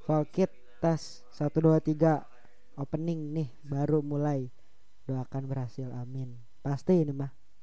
Volkit tes 1 2 3 opening nih baru mulai. Doakan berhasil, amin. Pasti ini mah.